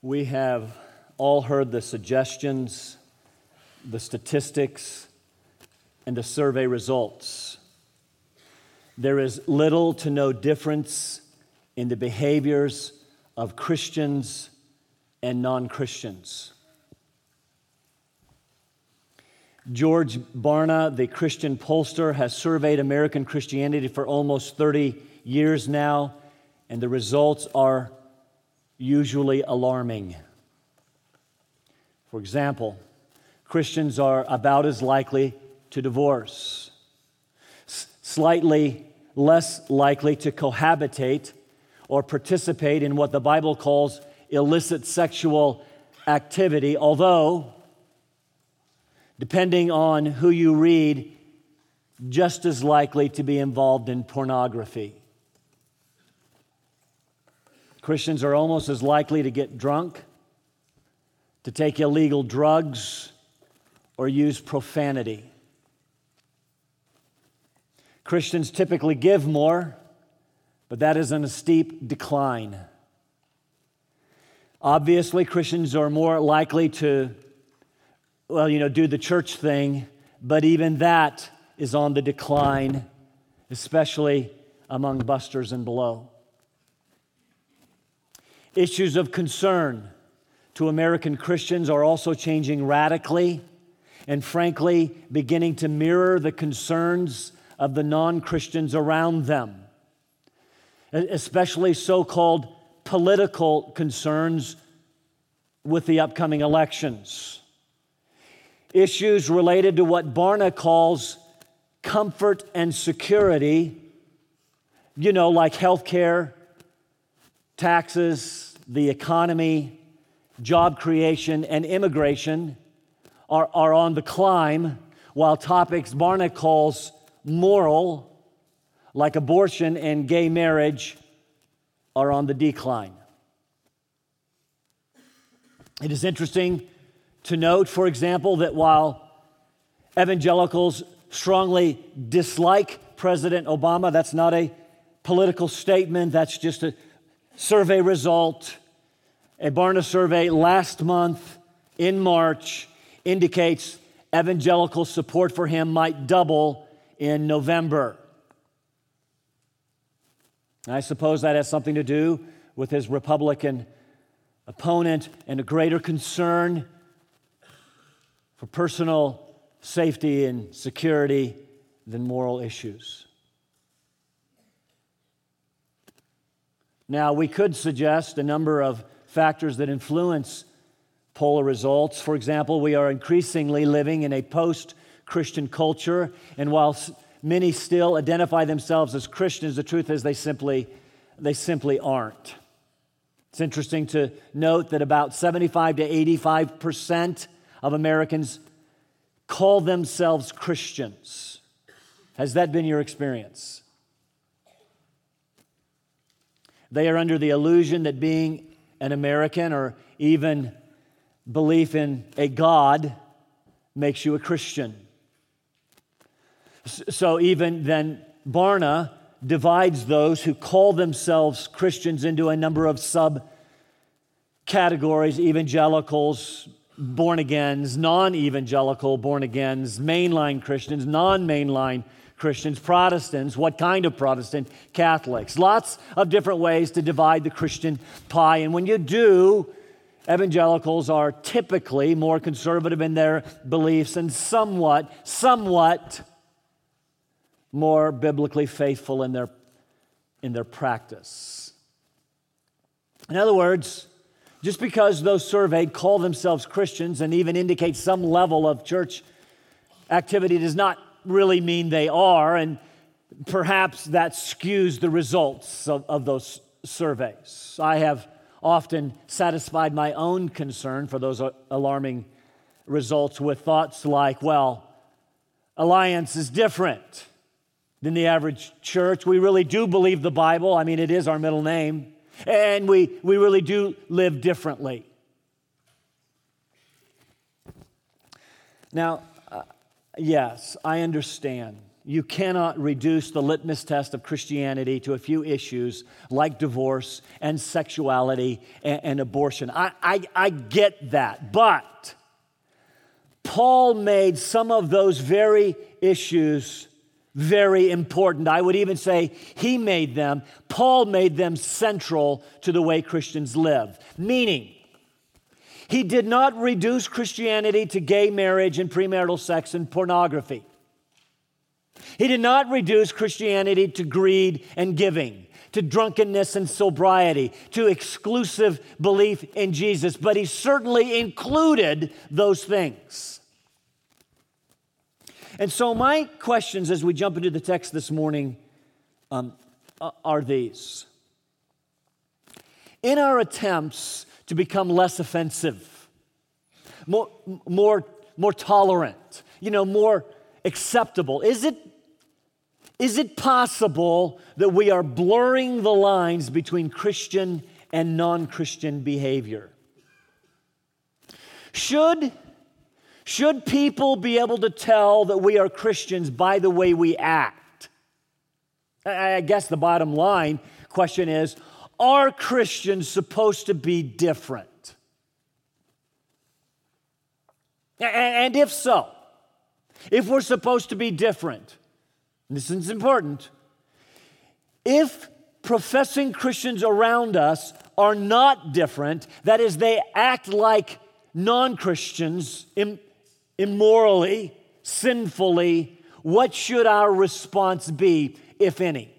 We have all heard the suggestions, the statistics, and the survey results. There is little to no difference in the behaviors of Christians and non-Christians. George Barna, the Christian pollster, has surveyed American Christianity for almost 30 years now, and the results are usually alarming. For example, Christians are about as likely to divorce, slightly less likely to cohabitate or participate in what the Bible calls illicit sexual activity, although, depending on who you read, just as likely to be involved in pornography. Christians are almost as likely to get drunk, to take illegal drugs, or use profanity. Christians typically give more, but that is in a steep decline. Obviously, Christians are more likely to, do the church thing, but even that is on the decline, especially among busters and below. Issues of concern to American Christians are also changing radically and frankly beginning to mirror the concerns of the non-Christians around them, especially so-called political concerns with the upcoming elections. Issues related to what Barna calls comfort and security, like health care, taxes, the economy, job creation, and immigration are on the climb, while topics Barna calls moral, like abortion and gay marriage, are on the decline. It is interesting to note, for example, that while evangelicals strongly dislike President Obama, that's not a political statement, that's just a survey result. A Barna survey last month in March indicates evangelical support for him might double in November. I suppose that has something to do with his Republican opponent and a greater concern for personal safety and security than moral issues. Now, we could suggest a number of factors that influence poll results. For example, we are increasingly living in a post-Christian culture, and while many still identify themselves as Christians, the truth is they simply aren't. It's interesting to note that about 75 to 85% of Americans call themselves Christians. Has that been your experience? They are under the illusion that being an American or even belief in a God makes you a Christian. So even then, Barna divides those who call themselves Christians into a number of subcategories: evangelicals, born-agains, non-evangelical born-agains, mainline Christians, non-mainline Christians, Protestants, what kind of Protestant, Catholics. Lots of different ways to divide the Christian pie. And when you do, evangelicals are typically more conservative in their beliefs and somewhat more biblically faithful in their practice. In other words, just because those surveyed call themselves Christians and even indicate some level of church activity does not really mean they are, and perhaps that skews the results of those surveys. I have often satisfied my own concern for those alarming results with thoughts like, Alliance is different than the average church. We really do believe the Bible. I mean, it is our middle name. And we really do live differently. Now, yes, I understand you cannot reduce the litmus test of Christianity to a few issues like divorce and sexuality and abortion. I get that, but Paul made some of those very issues very important. I would even say Paul made them central to the way Christians live. Meaning, he did not reduce Christianity to gay marriage and premarital sex and pornography. He did not reduce Christianity to greed and giving, to drunkenness and sobriety, to exclusive belief in Jesus, but he certainly included those things. And so my questions as we jump into the text this morning are these. In our attempts to become less offensive, more tolerant, more acceptable, is it possible that we are blurring the lines between Christian and non-Christian behavior? Should people be able to tell that we are Christians by the way we act? I guess the bottom line question is, are Christians supposed to be different? And if so, if we're supposed to be different, this is important, if professing Christians around us are not different, that is, they act like non-Christians immorally, sinfully, what should our response be, if any?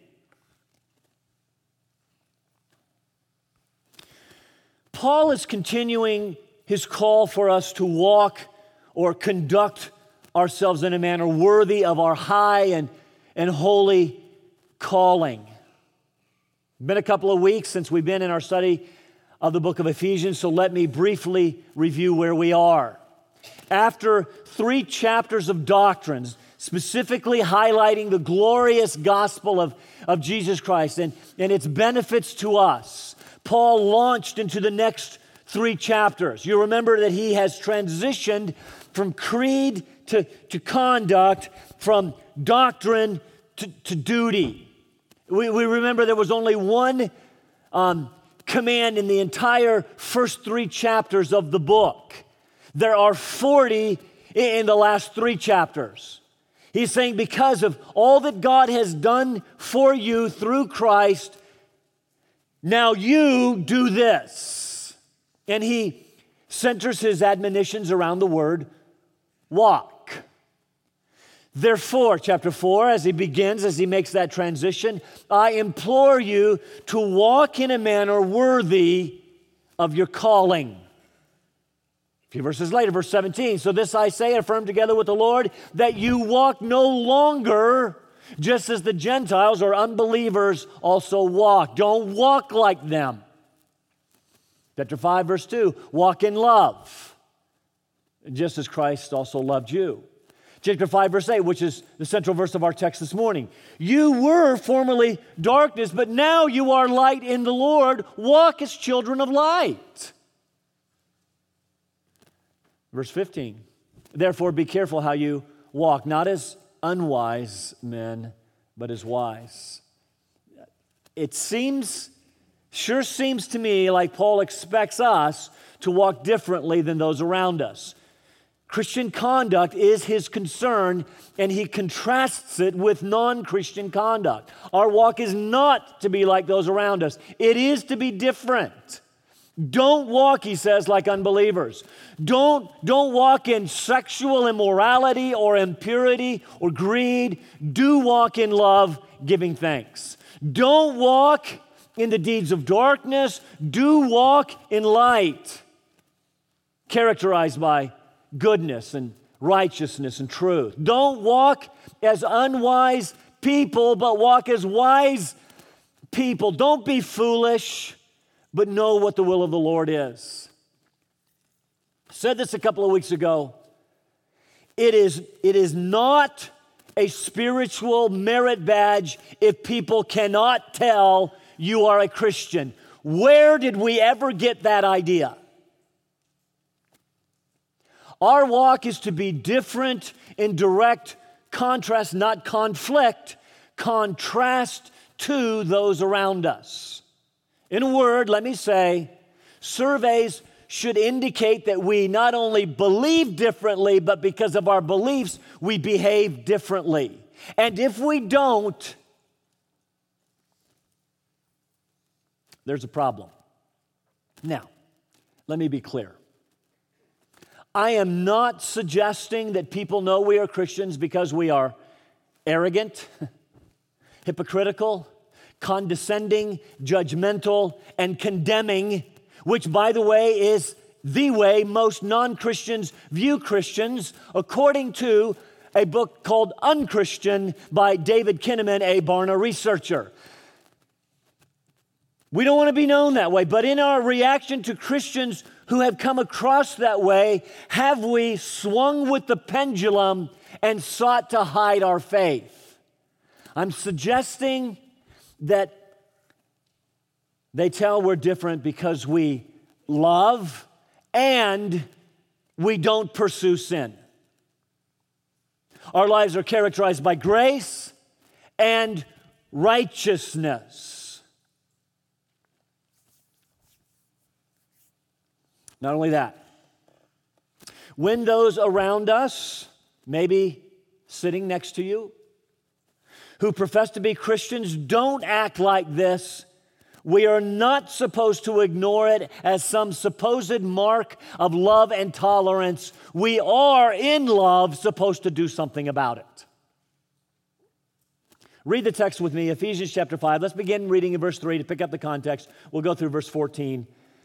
Paul is continuing his call for us to walk or conduct ourselves in a manner worthy of our high and holy calling. It's been a couple of weeks since we've been in our study of the book of Ephesians, so let me briefly review where we are. After 3 chapters of doctrines, specifically highlighting the glorious gospel of Jesus Christ and its benefits to us, Paul launched into the next 3 chapters. You remember that he has transitioned from creed to conduct, from doctrine to duty. We remember there was only one command in the entire first 3 chapters of the book. There are 40 in the last 3 chapters. He's saying because of all that God has done for you through Christ, now you do this. And he centers his admonitions around the word walk. Therefore, chapter 4, as he makes that transition, I implore you to walk in a manner worthy of your calling. A few verses later, verse 17, so this I say, affirm together with the Lord, that you walk no longer just as the Gentiles or unbelievers also walk. Don't walk like them. Chapter 5, verse 2, walk in love, just as Christ also loved you. Chapter 5, verse 8, which is the central verse of our text this morning. You were formerly darkness, but now you are light in the Lord. Walk as children of light. Verse 15, therefore be careful how you walk, not as unwise men, but as wise. It sure seems to me like Paul expects us to walk differently than those around us. Christian conduct is his concern, and he contrasts it with non-Christian conduct. Our walk is not to be like those around us. It is to be different. Don't walk, he says, like unbelievers. Don't walk in sexual immorality or impurity or greed. Do walk in love, giving thanks. Don't walk in the deeds of darkness. Do walk in light, characterized by goodness and righteousness and truth. Don't walk as unwise people, but walk as wise people. Don't be foolish, but know what the will of the Lord is. I said this a couple of weeks ago. It is not a spiritual merit badge if people cannot tell you are a Christian. Where did we ever get that idea? Our walk is to be different in direct contrast, not conflict, contrast to those around us. In a word, let me say, surveys should indicate that we not only believe differently, but because of our beliefs, we behave differently. And if we don't, there's a problem. Now, let me be clear. I am not suggesting that people know we are Christians because we are arrogant, hypocritical, condescending, judgmental, and condemning, which, by the way, is the way most non-Christians view Christians, according to a book called Unchristian by David Kinnaman, a Barna researcher. We don't want to be known that way, but in our reaction to Christians who have come across that way, have we swung with the pendulum and sought to hide our faith? I'm suggesting that they tell we're different because we love and we don't pursue sin. Our lives are characterized by grace and righteousness. Not only that, when those around us, maybe sitting next to you, who profess to be Christians don't act like this, we are not supposed to ignore it as some supposed mark of love and tolerance. We are, in love, supposed to do something about it. Read the text with me, Ephesians chapter 5. Let's begin reading in verse 3 to pick up the context. We'll go through verse 14.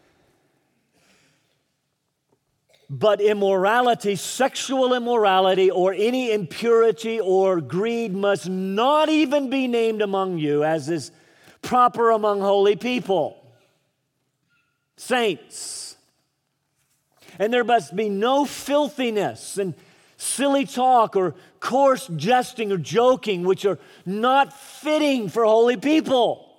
But immorality, sexual immorality, or any impurity or greed must not even be named among you, as is proper among holy people, saints. And there must be no filthiness and silly talk or coarse jesting or joking, which are not fitting for holy people,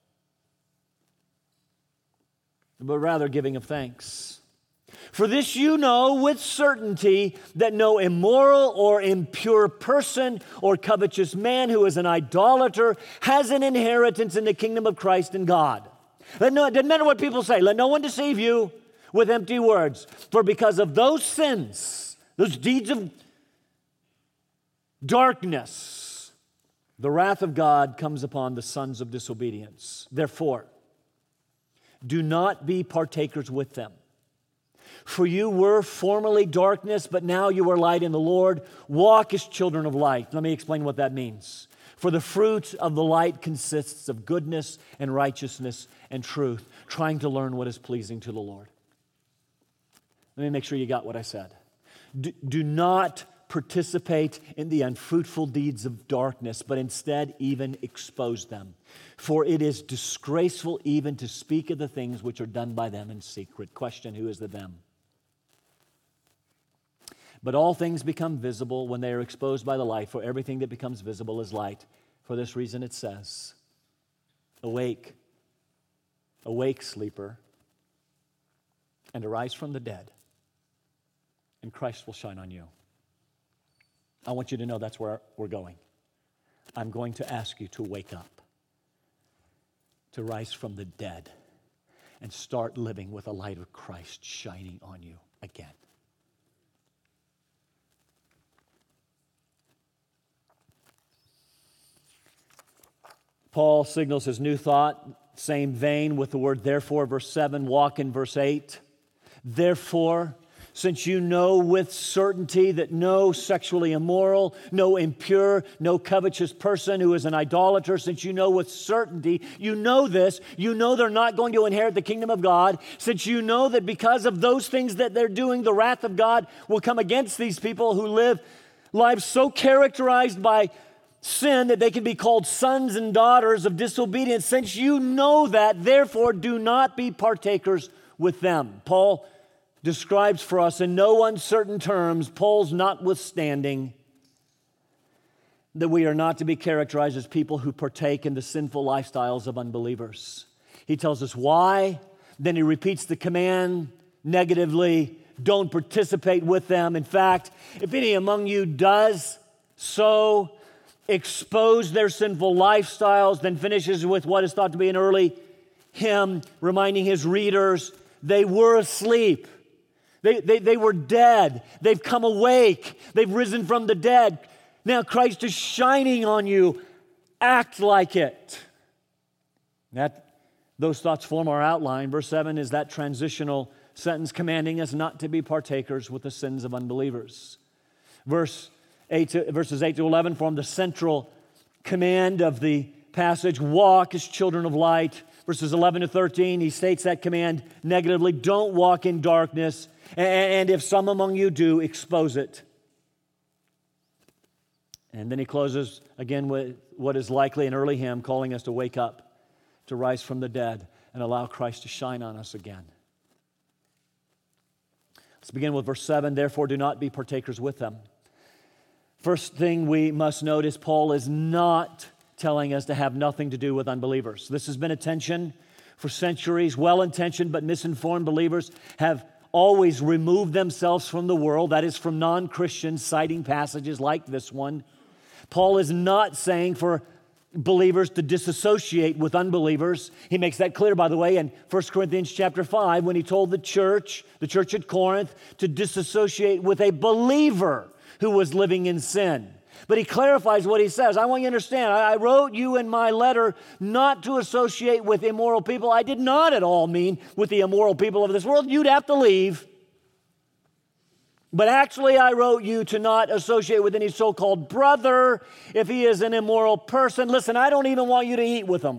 but rather giving of thanks. For this you know with certainty that no immoral or impure person or covetous man who is an idolater has an inheritance in the kingdom of Christ and God. It doesn't matter what people say. Let no one deceive you with empty words. For because of those sins, those deeds of darkness, the wrath of God comes upon the sons of disobedience. Therefore, do not be partakers with them. For you were formerly darkness, but now you are light in the Lord. Walk as children of light. Let me explain what that means. For the fruit of the light consists of goodness and righteousness and truth, trying to learn what is pleasing to the Lord. Let me make sure you got what I said. Do not participate in the unfruitful deeds of darkness, but instead even expose them. For it is disgraceful even to speak of the things which are done by them in secret. Question, who is the them? But all things become visible when they are exposed by the light, for everything that becomes visible is light. For this reason it says, awake, awake, sleeper, and arise from the dead, and Christ will shine on you. I want you to know that's where we're going. I'm going to ask you to wake up, to rise from the dead, and start living with the light of Christ shining on you again. Paul signals his new thought, same vein with the word therefore, verse 7, walk in verse 8. Therefore, since you know with certainty that no sexually immoral, no impure, no covetous person who is an idolater, since you know with certainty, you know this, you know they're not going to inherit the kingdom of God, since you know that because of those things that they're doing, the wrath of God will come against these people who live lives so characterized by sin that they can be called sons and daughters of disobedience. Since you know that, therefore do not be partakers with them. Paul describes for us in no uncertain terms, Paul's notwithstanding, that we are not to be characterized as people who partake in the sinful lifestyles of unbelievers. He tells us why, then he repeats the command negatively, don't participate with them. In fact, if any among you does so expose their sinful lifestyles, then finishes with what is thought to be an early hymn, reminding his readers they were asleep. They were dead. They've come awake. They've risen from the dead. Now Christ is shining on you. Act like it. Those thoughts form our outline. Verse 7 is that transitional sentence commanding us not to be partakers with the sins of unbelievers. Verses 8 to 11 form the central command of the passage. Walk as children of light. Verses 11 to 13, he states that command negatively. Don't walk in darkness. And if some among you do, expose it. And then he closes again with what is likely an early hymn, calling us to wake up, to rise from the dead, and allow Christ to shine on us again. Let's begin with verse 7. Therefore, do not be partakers with them. First thing we must note is Paul is not telling us to have nothing to do with unbelievers. This has been a tension for centuries. Well-intentioned but misinformed believers have always removed themselves from the world, that is, from non-Christians, citing passages like this one. Paul is not saying for believers to disassociate with unbelievers. He makes that clear, by the way, in 1 Corinthians chapter 5, when he told the church at Corinth, to disassociate with a believer who was living in sin. But he clarifies what he says. I want you to understand, I wrote you in my letter not to associate with immoral people. I did not at all mean with the immoral people of this world. You'd have to leave. But actually, I wrote you to not associate with any so-called brother if he is an immoral person. Listen, I don't even want you to eat with him.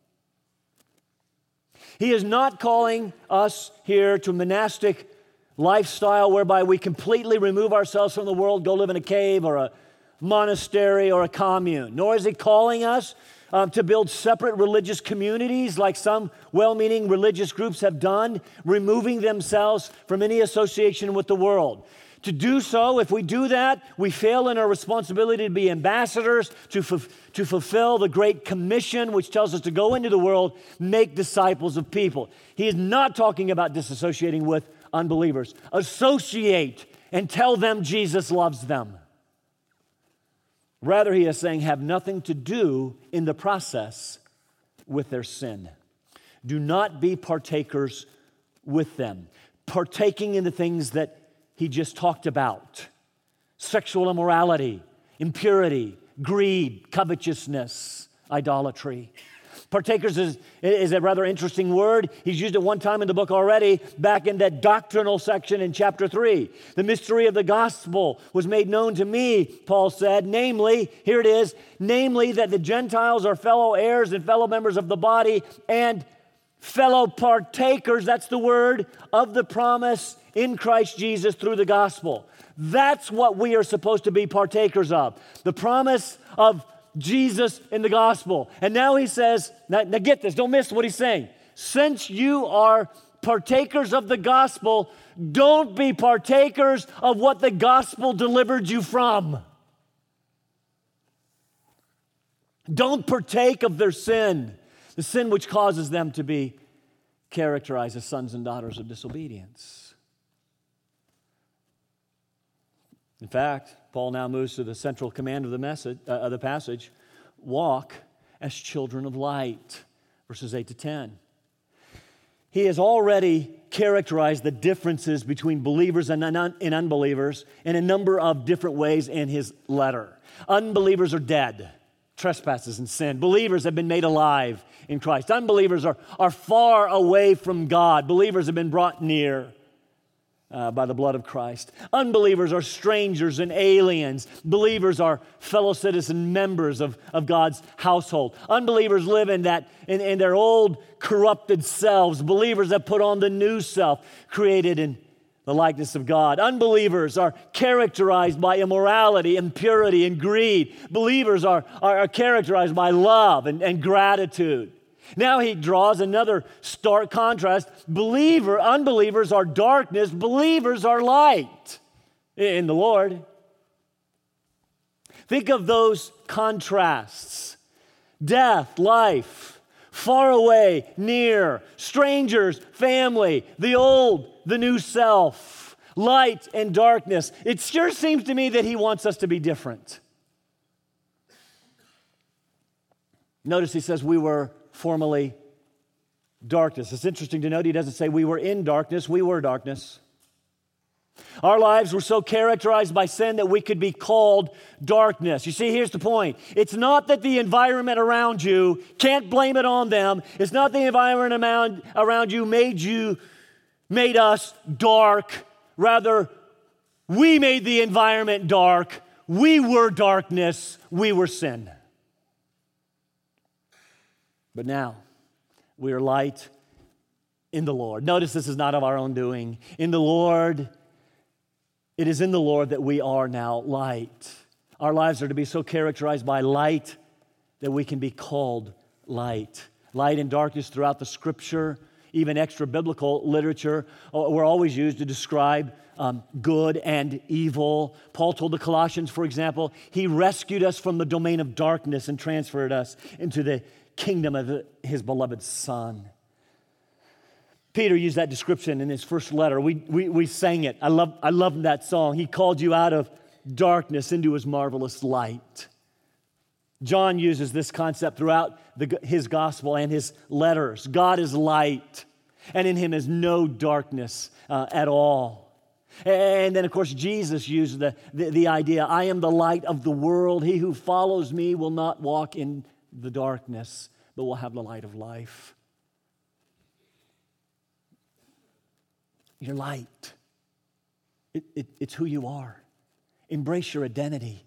He is not calling us here to monastic lifestyle whereby we completely remove ourselves from the world, go live in a cave or a monastery or a commune. Nor is he calling us to build separate religious communities like some well-meaning religious groups have done, removing themselves from any association with the world. To do so, if we do that, we fail in our responsibility to be ambassadors, to fulfill the Great Commission, which tells us to go into the world, make disciples of people. He is not talking about disassociating with unbelievers. Associate and tell them Jesus loves them. Rather, he is saying, have nothing to do in the process with their sin. Do not be partakers with them. Partaking in the things that he just talked about. Sexual immorality, impurity, greed, covetousness, idolatry. Partakers is a rather interesting word. He's used it one time in the book already, back in that doctrinal section in chapter 3. The mystery of the gospel was made known to me, Paul said, namely, here it is, namely that the Gentiles are fellow heirs and fellow members of the body and fellow partakers, that's the word, of the promise in Christ Jesus through the gospel. That's what we are supposed to be partakers of. The promise of Jesus in the gospel. And now he says, now get this, don't miss what he's saying. Since you are partakers of the gospel, don't be partakers of what the gospel delivered you from. Don't partake of their sin, the sin which causes them to be characterized as sons and daughters of disobedience. In fact, Paul now moves to the central command of the passage. Walk as children of light, verses 8 to 10. He has already characterized the differences between believers and unbelievers in a number of different ways in his letter. Unbelievers are dead, trespasses and sin. Believers have been made alive in Christ. Unbelievers are far away from God. Believers have been brought near by the blood of Christ. Unbelievers are strangers and aliens. Believers are fellow citizen members of God's household. Unbelievers live in their old corrupted selves. Believers have put on the new self, created in the likeness of God. Unbelievers are characterized by immorality, impurity, and greed. Believers are characterized by love and gratitude. Now he draws another stark contrast. Unbelievers are darkness, believers are light in the Lord. Think of those contrasts. Death, life, far away, near, strangers, family, the old, the new self, light and darkness. It sure seems to me that he wants us to be different. Notice he says we were formerly darkness. It's interesting to note he doesn't say we were in darkness, we were darkness. Our lives were so characterized by sin that we could be called darkness. You see, here's the point. It's not that the environment around you, can't blame it on them. It's not the environment around you made us dark. Rather, we made the environment dark. We were darkness. We were sin. But now, we are light in the Lord. Notice this is not of our own doing. In the Lord, it is in the Lord that we are now light. Our lives are to be so characterized by light that we can be called light. Light and darkness throughout the Scripture, even extra-biblical literature, were always used to describe good and evil. Paul told the Colossians, for example, he rescued us from the domain of darkness and transferred us into the kingdom of his beloved Son. Peter used that description in his first letter. We sang it. I love that song. He called you out of darkness into his marvelous light. John uses this concept throughout his gospel and his letters. God is light, and in him is no darkness at all. And then, of course, Jesus used the idea, I am the light of the world. He who follows me will not walk in the darkness, but will have the light of life. You're light. It's who you are. Embrace your identity.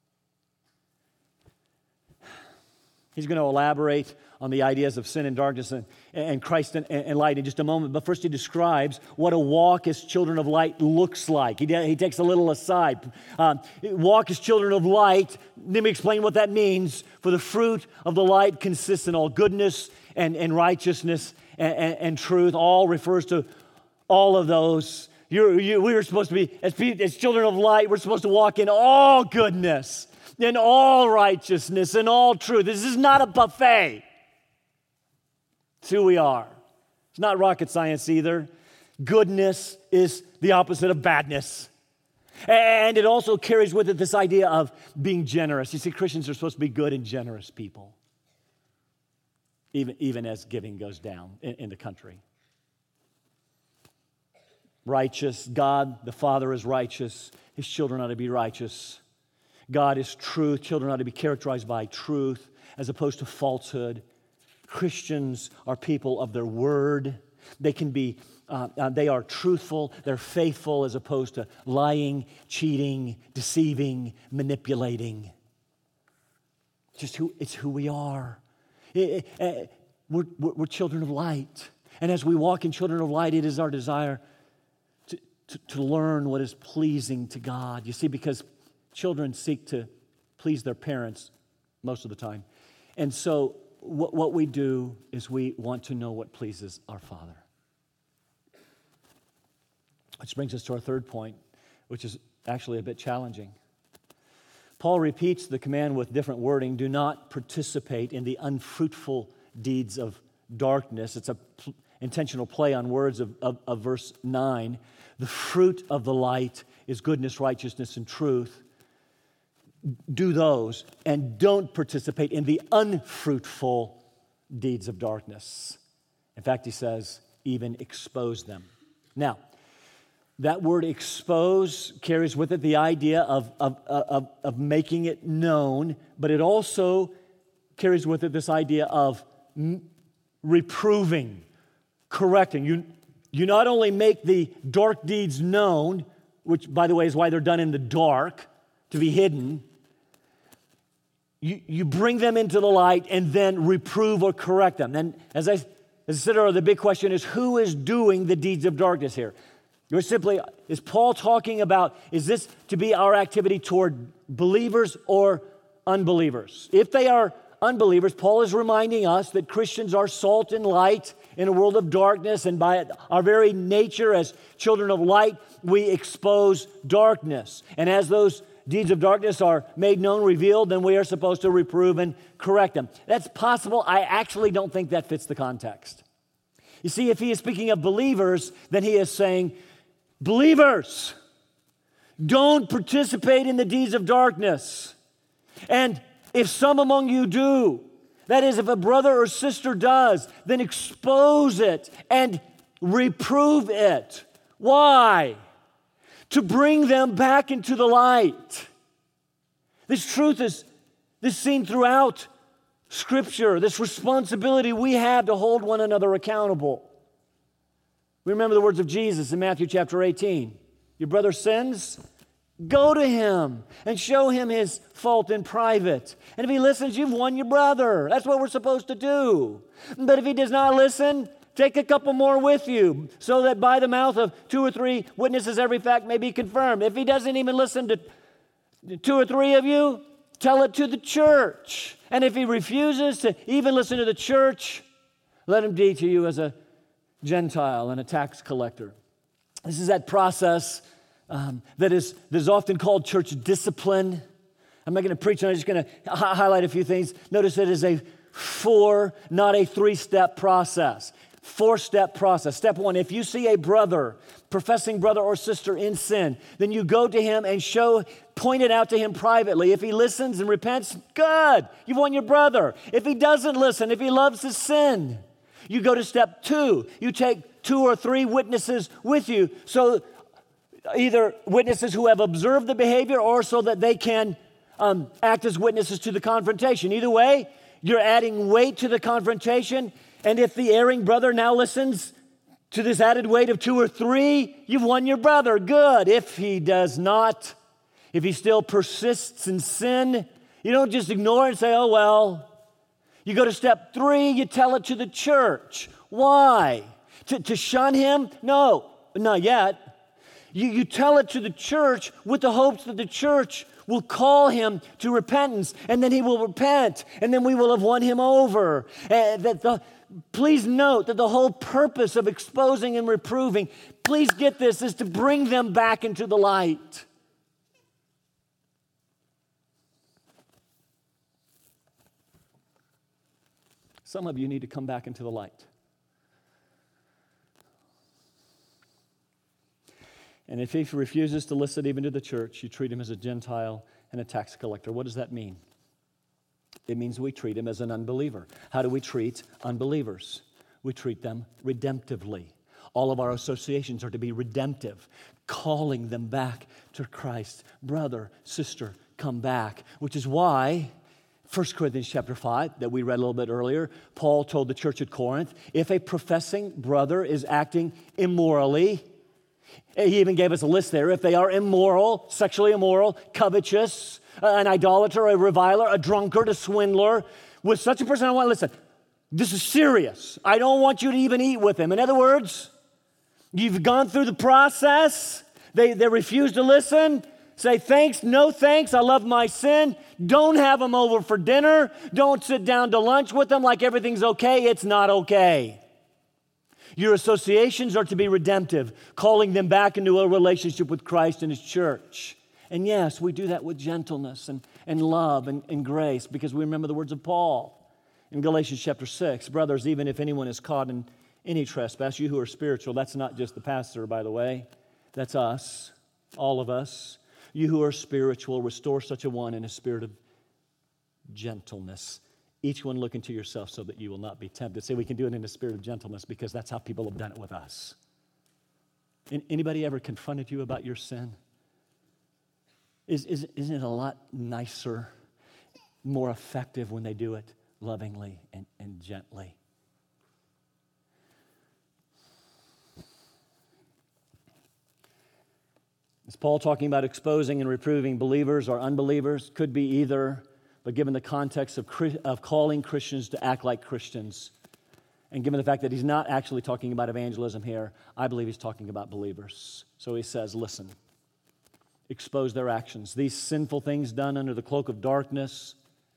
He's going to elaborate on the ideas of sin and darkness and Christ and light in just a moment. But first he describes what a walk as children of light looks like. He takes a little aside. Walk as children of light. Let me explain what that means. For the fruit of the light consists in all goodness and righteousness and truth. All refers to all of those. We are supposed to be, as children of light, we're supposed to walk in all goodness, in all righteousness, in all truth. This is not a buffet. It's who we are. It's not rocket science either. Goodness is the opposite of badness. And it also carries with it this idea of being generous. You see, Christians are supposed to be good and generous people, even as giving goes down in the country. Righteous. God, the Father, is righteous. His children ought to be righteous. God is truth. Children ought to be characterized by truth as opposed to falsehood. Christians are people of their word. They can be, they are truthful. They're faithful as opposed to lying, cheating, deceiving, manipulating. It's who we are. We're children of light. And as we walk in children of light, it is our desire to learn what is pleasing to God. You see, because children seek to please their parents most of the time. And so what we do is we want to know what pleases our Father. Which brings us to our third point, which is actually a bit challenging. Paul repeats the command with different wording. Do not participate in the unfruitful deeds of darkness. It's an intentional play on words of verse 9. The fruit of the light is goodness, righteousness, and truth. Do those and don't participate in the unfruitful deeds of darkness. In fact, he says, even expose them. Now, that word expose carries with it the idea of making it known, but it also carries with it this idea of reproving, correcting. You not only make the dark deeds known, which, by the way, is why they're done in the dark, to be hidden. You bring them into the light and then reprove or correct them. And as I said earlier, the big question is, who is doing the deeds of darkness here? You're simply, is Paul talking about, is this to be our activity toward believers or unbelievers? If they are unbelievers, Paul is reminding us that Christians are salt and light in a world of darkness, and by our very nature as children of light, we expose darkness. And as those deeds of darkness are made known, revealed, then we are supposed to reprove and correct them. That's possible. I actually don't think that fits the context. You see, if he is speaking of believers, then he is saying, believers, don't participate in the deeds of darkness. And if some among you do, That is, if a brother or sister does, then expose it and reprove it. Why? To bring them back into the light. This truth is seen throughout Scripture, this responsibility we have to hold one another accountable. We remember the words of Jesus in Matthew chapter 18. Your brother sins, go to him and show him his fault in private. And if he listens, you've won your brother. That's what we're supposed to do. But if he does not listen, take a couple more with you, so that by the mouth of 2 or 3 witnesses every fact may be confirmed. If he doesn't even listen to 2 or 3 of you, tell it to the church. And if he refuses to even listen to the church, let him be to you as a Gentile and a tax collector. This is that process that is often called church discipline. I'm not going to preach on it, I'm just going to highlight a few things. Notice it is a 4, not a 3-step process. 4-step process. Step 1, if you see a brother, professing brother or sister in sin, then you go to him and point it out to him privately. If he listens and repents, good, you've won your brother. If he doesn't listen, if he loves his sin, you go to step 2. You take 2 or 3 witnesses with you, so either witnesses who have observed the behavior or so that they can act as witnesses to the confrontation. Either way, you're adding weight to the confrontation. And if the erring brother now listens to this added weight of 2 or 3, you've won your brother. Good. If he does not, if he still persists in sin, you don't just ignore it and say, oh, well. You go to step 3, you tell it to the church. Why? To shun him? No, not yet. You tell it to the church with the hopes that the church will call him to repentance, and then he will repent, and then we will have won him over. Please note that the whole purpose of exposing and reproving, please get this, is to bring them back into the light. Some of you need to come back into the light. And if he refuses to listen even to the church, you treat him as a Gentile and a tax collector. What does that mean? It means we treat him as an unbeliever. How do we treat unbelievers? We treat them redemptively. All of our associations are to be redemptive, calling them back to Christ. Brother, sister, come back. Which is why 1 Corinthians chapter 5, that we read a little bit earlier, Paul told the church at Corinth, if a professing brother is acting immorally, he even gave us a list there. If they are immoral, sexually immoral, covetous, an idolater, a reviler, a drunkard, a swindler, with such a person, I want to listen. This is serious. I don't want you to even eat with him. In other words, you've gone through the process. They refuse to listen. Say thanks, no thanks, I love my sin. Don't have them over for dinner. Don't sit down to lunch with them like everything's okay. It's not okay. Your associations are to be redemptive, calling them back into a relationship with Christ and His church. And yes, we do that with gentleness and love and grace, because we remember the words of Paul in Galatians chapter 6. Brothers, even if anyone is caught in any trespass, you who are spiritual, that's not just the pastor, by the way. That's us, all of us. You who are spiritual, restore such a one in a spirit of gentleness. Each one look into yourself so that you will not be tempted. Say we can do it in a spirit of gentleness because that's how people have done it with us. Anybody ever confronted you about your sin? Isn't it a lot nicer, more effective when they do it lovingly and gently? Is Paul talking about exposing and reproving believers or unbelievers? Could be either, but given the context of calling Christians to act like Christians, and given the fact that he's not actually talking about evangelism here, I believe he's talking about believers. So he says, listen, expose their actions. These sinful things done under the cloak of darkness.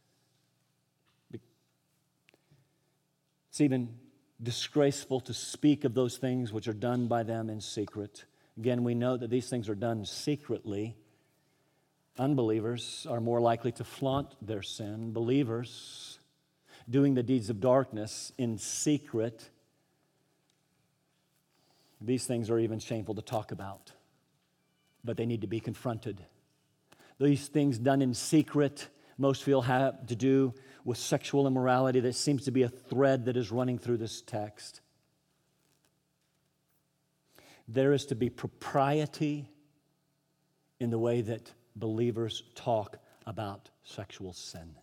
It's even disgraceful to speak of those things which are done by them in secret. Again, we know that these things are done secretly. Unbelievers are more likely to flaunt their sin. Believers doing the deeds of darkness in secret. These things are even shameful to talk about, but they need to be confronted. These things done in secret, most feel have to do with sexual immorality that seems to be a thread that is running through this text. There is to be propriety in the way that believers talk about sexual sin.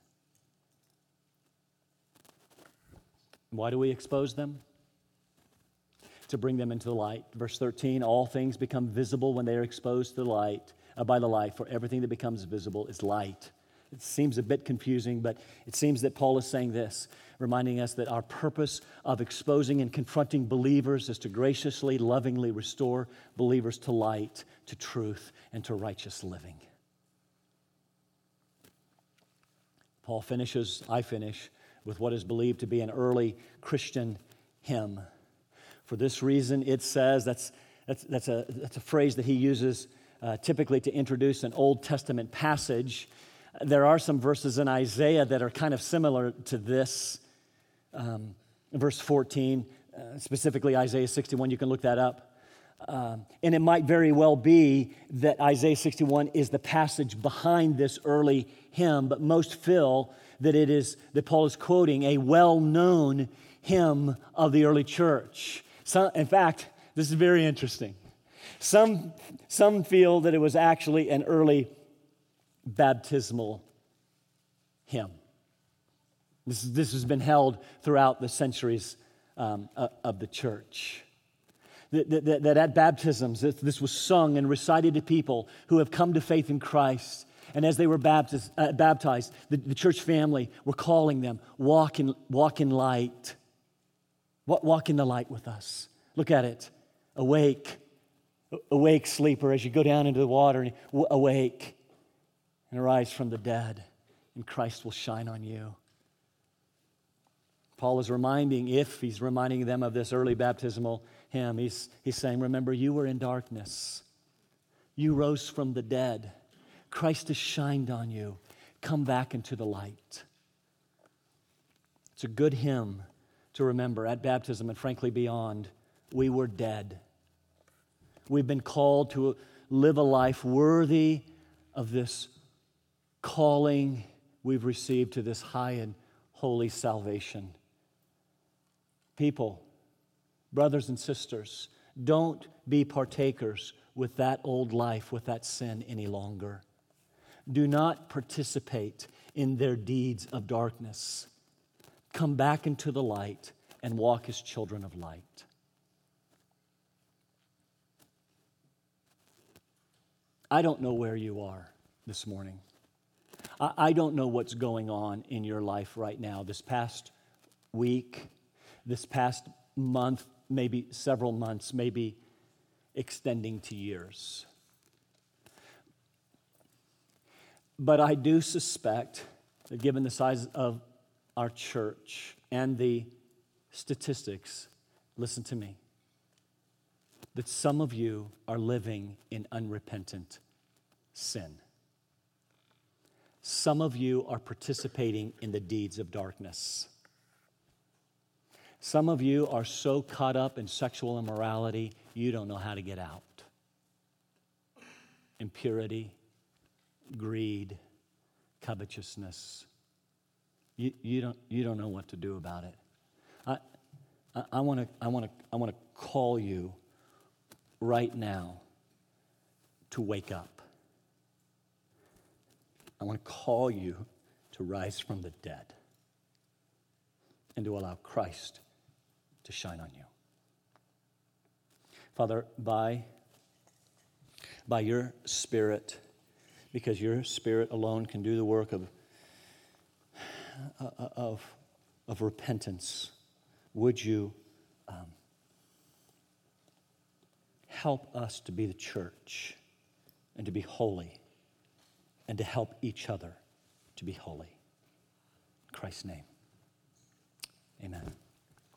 Why do we expose them? To bring them into the light. Verse 13, all things become visible when they are exposed to the light, by the light, for everything that becomes visible is light. It seems a bit confusing, but it seems that Paul is saying this, reminding us that our purpose of exposing and confronting believers is to graciously, lovingly restore believers to light, to truth, and to righteous living. Paul finishes, I finish, with what is believed to be an early Christian hymn. For this reason, it says, that's a phrase that he uses typically to introduce an Old Testament passage. There are some verses in Isaiah that are kind of similar to this. Verse 14, specifically Isaiah 61, you can look that up. And it might very well be that Isaiah 61 is the passage behind this early hymn, but most feel that it is that Paul is quoting a well-known hymn of the early church. In fact, this is very interesting. Some feel that it was actually an early baptismal hymn. This has been held throughout the centuries of the church. That at baptisms, this was sung and recited to people who have come to faith in Christ. And as they were baptized, the church family were calling them, walk in light. Walk in the light with us. Look at it. Awake, sleeper, as you go down into the water. Awake and arise from the dead, and Christ will shine on you. Paul is reminding them of this early baptismal hymn, he's saying, remember, you were in darkness. You rose from the dead. Christ has shined on you. Come back into the light. It's a good hymn to remember at baptism and frankly beyond. We were dead. We've been called to live a life worthy of this calling we've received to this high and holy salvation. People, brothers and sisters, don't be partakers with that old life, with that sin any longer. Do not participate in their deeds of darkness. Come back into the light and walk as children of light. I don't know where you are this morning. I don't know what's going on in your life right now. This past week, this past month, maybe several months, maybe extending to years. But I do suspect that given the size of our church and the statistics, listen to me, that some of you are living in unrepentant sin. Some of you are participating in the deeds of darkness. Some of you are so caught up in sexual immorality, you don't know how to get out. Impurity, greed, covetousness. You don't know what to do about it. I want to call you right now to wake up. I want to call you to rise from the dead and to allow Christ to shine on you. Father, by your Spirit, because your Spirit alone can do the work of repentance, would you help us to be the church and to be holy and to help each other to be holy. In Christ's name, amen.